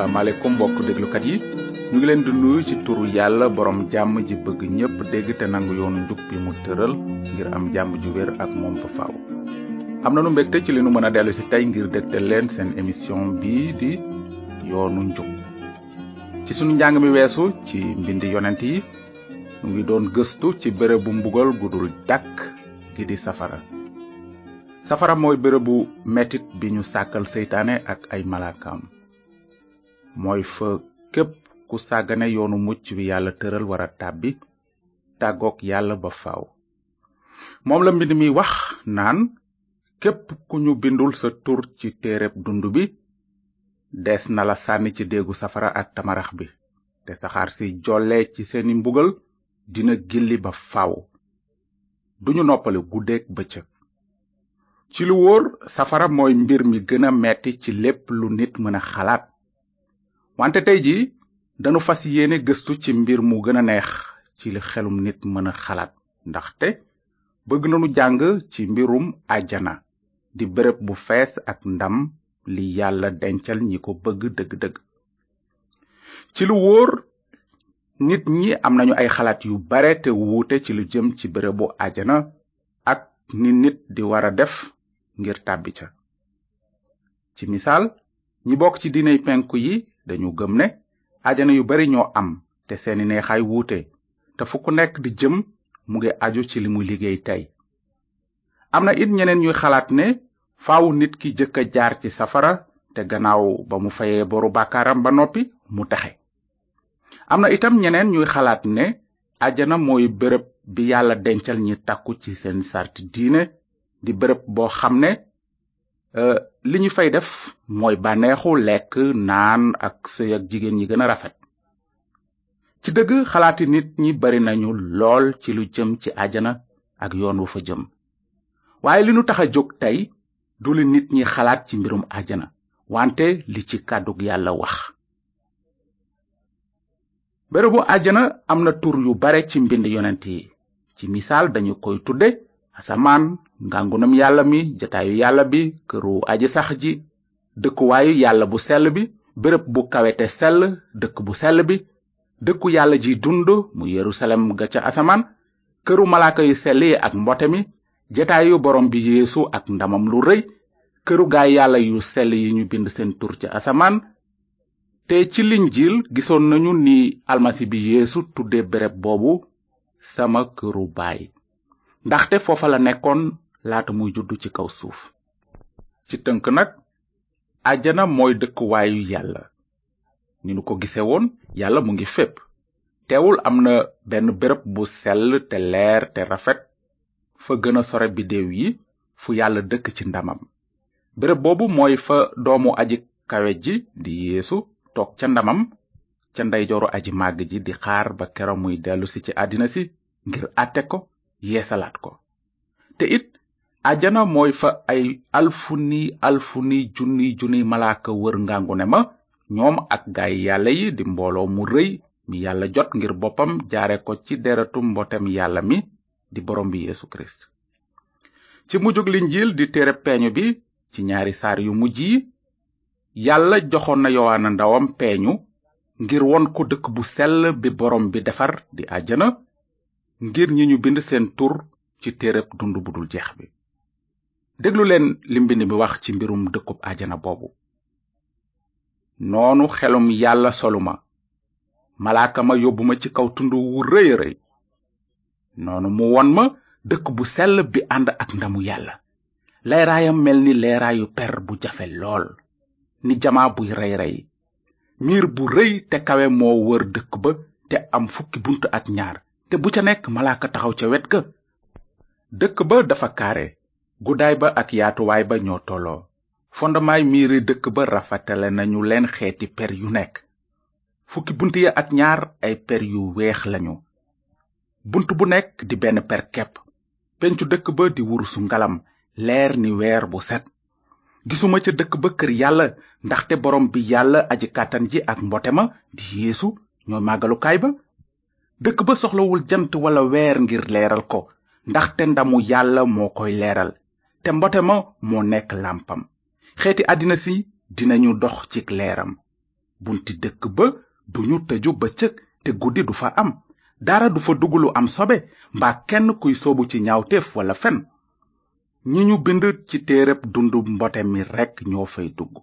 asalaamaaleykum mbokk déglukat yi ñu ngi leen di nuyu ci turu yàlla borom jàmm ji bëgg ñépp dégg te nangu yoonu njub bi mu tëral ngir am jàmm ju wér ak moom fa faaw. am nañu mbégte ci li nu mën a dellu si tey ngir dégtal leen seen émission bii di yoonu njub. ci sunu njàng mi weesu ci mbindi yonent yi ñu ngi doon gëstu ci bérébu mbugal gudul dàkk gi di safara. safara mooy bérébu metit bi ñu sàkkal seytaane ak ay malaakaam. mooy fa képp ku sàggane yoonu mucc wi yàlla tëral wara tàbbi tàggook yàlla ba faaw. moom la mbind mi wax naan képp ku ñu bindul sa tur ci téereb dund bi des na la sànni ci déegu safara ak tamarax bi te saxaar si jolle ci seeni mbugal dina gilli ba faaw. duñu noppale guddeek bëccëg. ci lu wóor safara mooy mbir mi gën a metti ci lépp lu nit mën a xalaat. wante tey ji danu fas yéene gëstu ci mbir mu gën a neex ci li xelum nit mën a xalaat ndaxte bëgg nanu jàng ci mbirum àjjana di béréb bu fees ak ndam li yàlla dencal ñi ko bëgg dëgg-dëgg. ci lu wóor nit ñi am nañu ay xalaat yu bare te wuute ci lu jëm ci bérébu àjjana ak ni nit di wara def ngir tàbbi ca. ci misaal ñi bokk ci diiney penku yi dañu gëm ne àjjana yu bari ñoo am te seeni neexaay wuute te fu ku nekk di jëm mu ngi aju ci li mu liggéey tey. am na it ñeneen ñuy xalaat ne faawu nit ki jëkk a jaar ci safara te gannaaw ba mu fayee boru bàkkaaram ba noppi mu texe. am na itam ñeneen ñuy xalaat ne àjjana mooy béréb bi yàlla dencal ñi takku ci seen sarti diine di béréb boo xam ne li ñu fay def mooy bànneexu lekk naan ak sëy ak jigéen ñi gën a rafet. ci dëgg xalaati nit ñi bari nañu lool ci lu jëm ci àjjana ak yoon wu fa jëm. waaye li nu tax a jóg tey du li nit ñi xalaat ci mbirum àjjana wante li ci kàddug yàlla wax. bérébu àjjana am na tur yu bare ci mbind yonent yi. ci misaal dañu koy tudde asamaan, ngangunam yàlla mi, jataayu yàlla bi, këru aji sax ji, dëkkuwaayu yàlla bu sell bi, béréb bu kawete sell, dëkk bu sell bi, dëkku yàlla ji dund mu Yerusalem ga ca asamaan, këru malaaka yu sell yi ak mbote mi, jataayu borom bi Yeesu ak ndamam lu rëy, këru gaay yàlla yu sell yi ñu bind seen tur ca asamaan. te ci Linjiil gisoon nañu ni almasi bi Yeesu tudde béréb boobu sama këru baay. ndaxte foofa la nekkoon laata muy juddu ci kaw suuf. ci tënk nag àjjana mooy dëkkuwaayu yàlla. ni nu ko gise woon yàlla mu ngi fépp. teewul am na benn béréb bu sell te leer te rafet fa gën a sore biddeew yi fu yàlla dëkk ci ndamam. béréb boobu mooy fa doomu aji kawe ji di Yeesu toog ca ndamam ca ndeyjooru aji màgg ji di xaar ba kero muy dellusi ci àddina si ngir àtte ko yeesalaat ko. te it àjjana mooy fa ay alfuni junni malaaka wër ngàngune ma ñoom ak gaay yàlla yi di mbooloo mu rëy mi yàlla jot ngir boppam jaare ko ci deretu mbotem yàlla mi di borom bi Yeesu Kirist. ci mujjug Linjiil di téere peeñu bi ci ñaari saar yu mujj yi yàlla joxoon na Yowaana ndawam peeñu ngir won ko dëkk bu sell bi borom bi defar di àjjana ngir ñi ñu bind seen tur ci téereb dund bu dul jeex bi. déglu leen li mbind mi wax ci mbirum dëkkub àjjana boobu. noonu xelum yàlla soluma malaaka ma yóbbu ma ci kaw tund wu rëy rëy. noonu mu won ma dëkk bu sell bi ànd ak ndamu yàlla. leeraayam mel ni leeraayu per bu jafe lool ni jamaa buy rey rey. miir bu rëy te kawe moo wër dëkk ba te am fukki bunt ak ñaar te bu ca nekk malaaka taxaw ca wet ga. dëkk ba dafa kaare guddaay ba ak yaatuwaay ba ñoo tolloo. fondamaay miiri dëkk ba rafetale nañu leen xeeti per yu nekk. fukki bunt ya ak ñaar ay per yu weex lañu. bunt bu nekk di benn per kepp. pencu dëkk ba di wurusu ngalam leer ni weer bu set. gisuma ca dëkk ba kër yàlla ndaxte borom bi yàlla aji kàttan ji ak mbote ma di Yeesu ñooy màggalukaay ba. dëkk ba soxlawul jant wala weer ngir leeral ko ndaxte ndamu yàlla moo koy leeral te mbote ma moo nekk làmpam. xeeti àddina si dinañu dox ci leeram. bunti dëkk ba duñu tëju bëccëg te guddi du fa am dara du fa dugg lu am sobe mbaa kenn kuy soobu ci ñaawteef wala fen. ñi ñu bind ci téereb dundu mbote mi rekk ñoo fay dugg.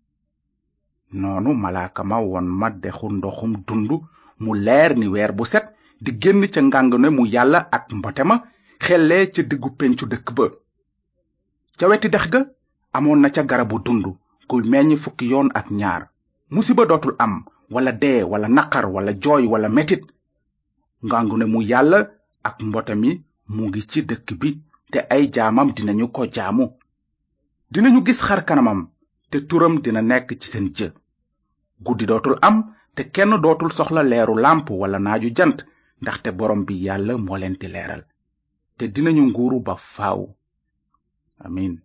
noonu malaaka ma won ma dexu ndoxum dundu mu leer ni weer bu set di génn ca ngàngune mu yàlla ak mbote ma xellee ca diggu pencu dëkk ba. ca weti dex ga amoon na ca garabu dundu guy meññ 12 yoon ak ñaar. musiba dootul am wala dee wala naqar wala jooy wala metit. ngàngune mu yàlla ak mbote mi mu ngi ci dëkk bi te ay jaamam dinañu ko jaamu. dinañu gis xar kanamam te turam dina nekk ci seen jë. guddi dootul am te kenn dootul soxla leeru làmp wala naaju jant ndaxte borom bi yàlla moo leen di leeral te dinañu nguuru ba faaw. amin.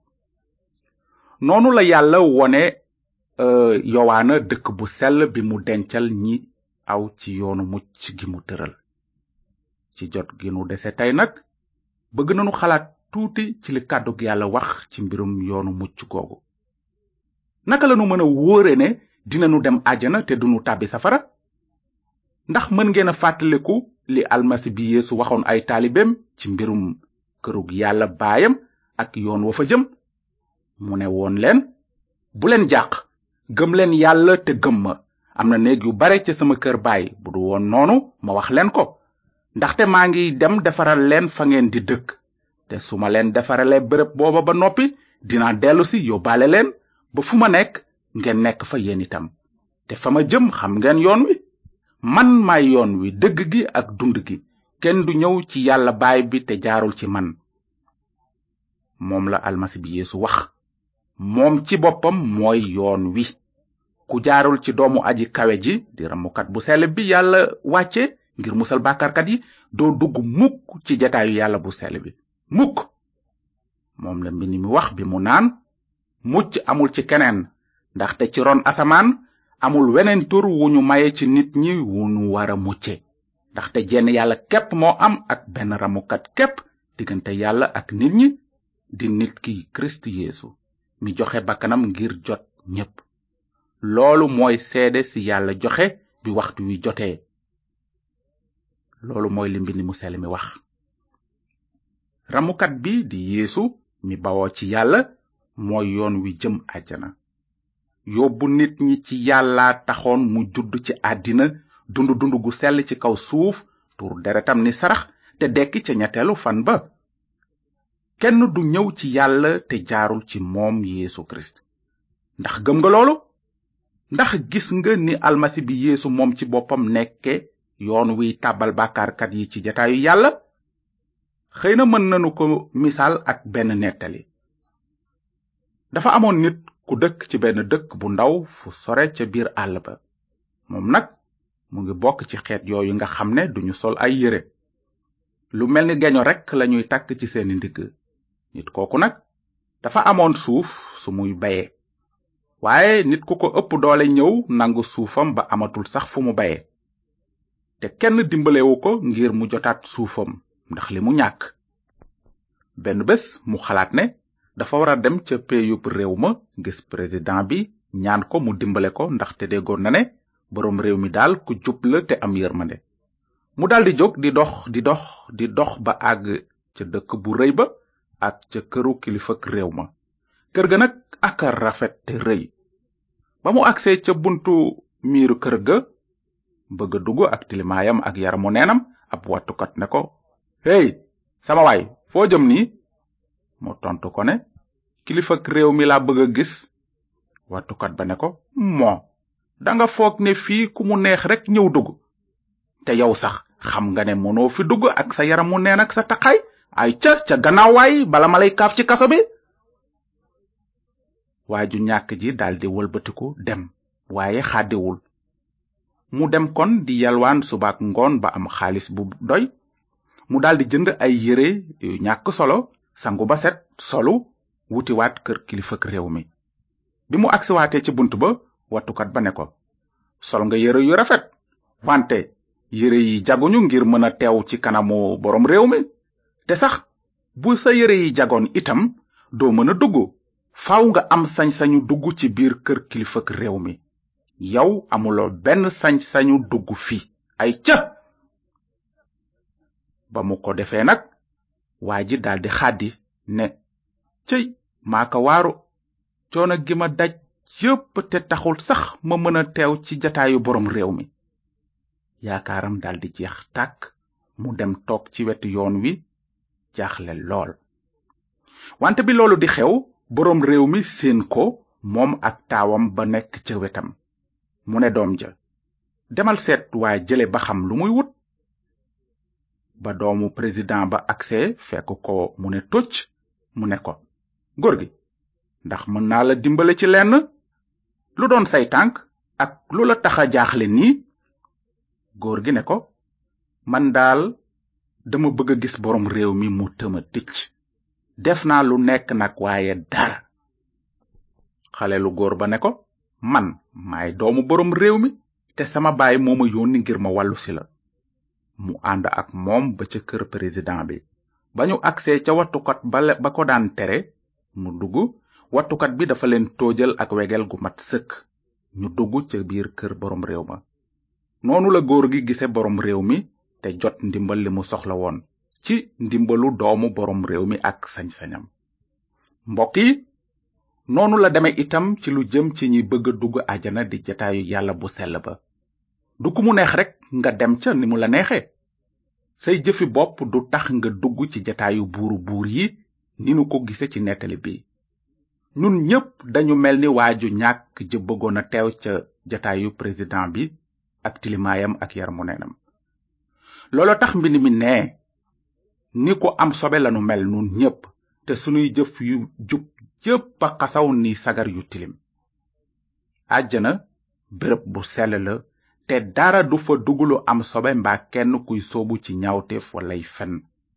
noonu la yàlla wone yowaana dëkk bu sell bi mu dencal ñi aw ci yoonu mucc gi mu tëral. ci jot gi nu dese tey nag bëgg nañu xalaat tuuti ci li kàddug yàlla wax ci mbirum yoonu mucc googu. naka lanu mën a wóore ne dinañu dem àjjana te duñu tàbbi safara? ndax mën ngeen a fàttaliku li almasi bi Yeesu waxoon ay taalibeem ci mbirum kërug yàlla baayam ak yoon wa fa jëm? mu ne woon leen, bu leen jàq, gëm leen yàlla te gëm ma. am na néeg yu bare ca sama kër baay, bu du woon noonu ma wax leen ko. ndaxte maa ngi dem defaral leen fa ngeen di dëkk. te su ma leen defaralee bërëb booba ba noppi dinaa dellu si yóbbaale leen ba fu ma nekk ngeen nekk fa yéen itam. te fa ma jëm xam ngeen yoon wi. man maay yoon wi, dëgg gi ak dund gi. kenn du ñëw ci yàlla baay bi te jaarul ci man. moom la almasi bi Yeesu wax. moom ci boppam mooy yoon wi. ku jaarul ci doomu aji kawe ji di ramukat bu sell bi yàlla wàcce ngir musal bàkkaarkat yi doo dugg mukk ci jataayu yàlla bu sell bi mukk. moom la mbind mi wax bi mu naan, mucc amul ci keneen ndaxte ci ron asamaan amul weneen tur wu ñu maye ci nit ñi wu ñu wara mucce. ndaxte jenn yàlla képp moo am ak benn ramukat képp diggante yàlla ak nit ñi, di nit ki Kirist Yeesu mi joxe bakkanam ngir jot ñépp. loolu mooy seede si yàlla joxe bi waxtu wi jotee. loolu mooy li mbind mu sell mi wax. ramukat bi di Yeesu mi bawoo ci yàlla mooy yoon wi jëm àjjana. yóbbu nit ñi ci yàlla taxoon mu judd ci àddina dund gu sell ci kaw suuf, tuur deretam ni sarax te dekki ca ñetteelu fan ba. kenn du ñëw ci yàlla te jaarul ci moom Yeesu Kirist. ndax gëm nga loolu? ndax gis nga ni almasi bi Yeesu moom ci boppam nekke yoon wi tàbbal bàkkaarkat yi ci jataayu yàlla? xëy na mën nanu ko misaal ak benn nettali. dafa amoon nit ku dëkk ci benn dëkk bu ndaw fu sore ca biir àll ba. moom nag mu ngi bokk ci xeet yooyu nga xam ne duñu sol ay yére. lu mel ni geño rekk lañuy takk ci seeni ndigg. nit kooku nag dafa amoon suuf su muy baye. waaye nit ku ko ëpp doole ñëw nangu suufam ba amatul sax fu mu baye. te kenn dimbalewu ko ngir mu jotaat suufam ndax li mu ñàkk. benn bés mu xalaat ne dafa war a dem ca péeyub réew ma gis président bi ñaan ko mu dimbale ko ndaxte déggoon na ne boroom réew mi daal ku jub la te am yërmande. mu daldi jóg di dox ba àgg ca dëkk bu rëy ba ak ca këru kilifak réew ma. kër ga nag aka rafet te rëy. ba mu agsee ca buntu miiru kër ga bëgg a dugg ak tilimaayam ak yaramu neenam, ab wattukat ne ko, hey sama waay, foo jëm nii? mu tontu ko ne, kilifak réew mi laa bëgg a gis. wattukat ba ne ko, danga foog ne fii ku mu neex rek ñëw dugg. te yow sax xam nga ne mënoo fi dugg ak sa yaramu neen ak sa taqaay. ay ca gannaaw waay bala ma lay kaaf ci kaso bi. waaju ñàkk ji daldi wëlbatiku dem, waaye xàddiwul. mu dem kon di yalwaan subaak ngoon ba am xaalis bu doy. mu daldi jënd ay yére yu ñàkk solo, sangu ba set, solu, wutiwaat kër kilifak réew mi. bi mu agsiwaatee ci bunt ba, wattukat ba ne ko, sol nga yére yu rafet, wante yére yi jaguñu ngir mën a teew ci kanamu boroom réew mi. te sax bu sa yére yi jagoon itam doo mën a dugg. faaw nga am sañ-sañu dugg ci biir kër kilifak réew mi. yow amuloo benn sañ-sañu dugg fi ay ca ba mu ko defee nag waa ji daldi xaddi ne cëy maa ko waaru coono gi ma daj yépp te taxul sax ma mën a teew ci jataayu borom réew mi yaakaaram daldi jeex tàkk mu dem toog ci wetu yoon wi jaaxle lool wante bi loolu di xew borom réew mi seen ko moom ak taawam ba nekk ca wetam mu ne doom ja demal seet waa jële ba xam lu muy wut ba doomu président ba agsee fekk ko mu ne tocc mu ne ko góor gi ndax mën naa la dimbale ci lenn lu doon say tànk ak lu la taxa jaaxle nii góor gi ne ko man daal dama bëgg a gis borom réew mi mu tëma ticc def naa lu nekk nag waaye dara xale lu góor ba ne ko man maay doomu borom réew mi te sama baay moo ma yónni ngir ma wàllu si la mu ànd ak moom ba ca kër président bi ba ñu agsee ca wattukat ba ko daan tere mu dugg wattukat bi dafa leen toojal ak wegel gu mat sëkk ñu dugg ca biir kër borom réew ma noonu la góor gi gise borom réew mi te jot ndimbal li mu soxla woon ci ndimbalu doomu borom réew mi ak sañ-sañam mbokk yi noonu la deme itam ci lu jëm ci ñi bëgg a dugg àjjana di jataayu yàlla bu sell ba du ku mu neex rek nga dem ca ni mu la neexee say jëfi bopp du tax nga dugg ci jataayu buur yi ni nu ko gise ci nettali bi ñun ñépp dañu mel ni waaju ñàkk ja bëggoon a teew ca jataayu président bi ak tilimaayam ak yaramu neenam loolo tax mbind mi ne ni ko am sobe lanu mel nun ñépp te sunuy jëf yu jub yépp a xasaw ni sagar yu tilim àjjana béréb bu sell la te dara du fa dugulu am sobe mbaa kenn kuy soobu ci ñaawteef walay fen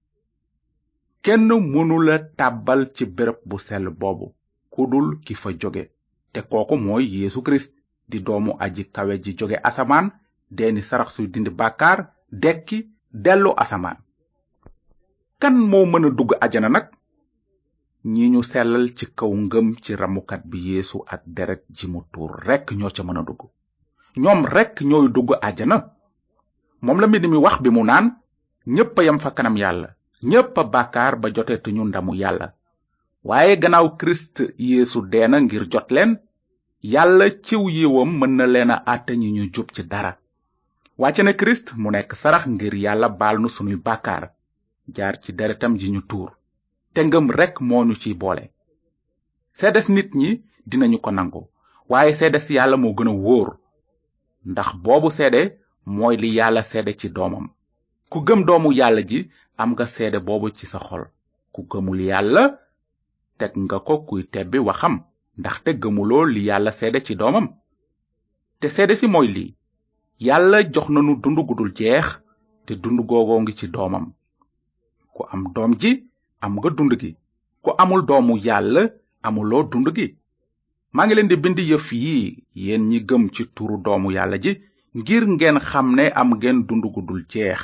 kenn mënula tàbbal ci béréb bu sell boobu kudul ki fa jóge te kooku mooy Yeesu Kirist di doomu aji kawe ji jóge asamaan deeni sarax suy dindi bàkkaar dekki dellu asamaan kan moo mën a dugg àjjana nag ñi ñu sellal ci kaw ngëm ci ramukat bi Yeesu ak deret ji mu tuur rekk ñoo ca mën a dugg ñoom rekk ñooy dugg àjjana moom la mbind mi wax bi mu naan ñépp a yam fa kanam yàlla ñépp a bàkkaar ba joteetuñu ndamu yàlla waaye gannaaw Kirist Yeesu deena ngir jot leen yàlla ciw yiwam mën na leen a àtte ñi ñu jub ci dara wàcce na Kirist mu nekk sarax ngir yàlla baal nu sunuy bàkkaar jaar ci deretam ji ñu tuur te ngëm rekk moo ñu ciy boole seedes nit ñi dinañu ko nangu waaye seedes yàlla moo gën a wóor ndax boobu seede mooy li yàlla seede ci doomam ku gëm doomu yàlla ji am nga seede boobu ci sa xol ku gëmul yàlla teg nga ko kuy tebbi waxam ndaxte gëmuloo li yàlla seede ci doomam te seede si mooy lii yàlla jox nanu dund gu dul jeex te dund googoo ngi ci doomam ku am doom ji am nga dund gi ku amul doomu yàlla amuloo dund gi maa ngi leen di bind yëf yi yéen ñi gëm ci turu doomu yàlla ji ngir ngeen xam ne am ngeen dund gu dul jeex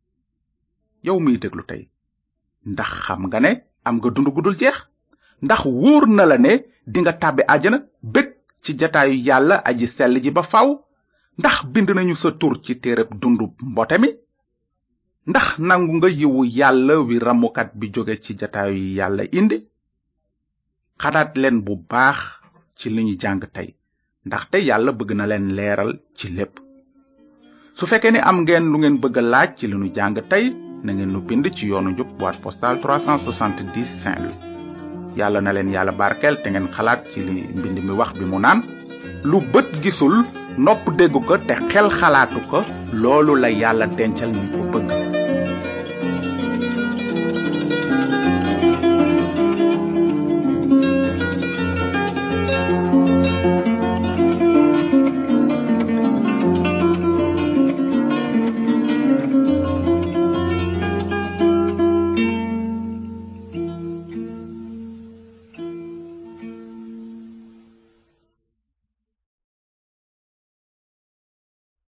yow miy déglu tey ndax xam nga ne am nga dund gu dul jeex ndax wóor na la ne dinga tàbbi àjjana bég ci jataayu yàlla aji sell ji ba faw ndax bind nañu sa tur ci téereb dundu mbote mi ndax nangu nga yiwu yàlla wi ramukat bi jóge ci jataayu yàlla indi xalaat leen bu baax ci li ñu jàng tey ndaxte yàlla bëgg na leen leeral ci lépp su fekkee ni am ngeen lu ngeen bëgg a laaj ci li ñu jàng tey na ngeen nu bind ci yoonu njub boîte postale 370 Saint-Louis yàlla na leen yàlla barkeel te ngeen xalaat ci li mbind mi wax bi mu naan lu bët gisul nopp dégg ko te xel xalaatu ko loolu la yàlla dencal ñu ko bëgg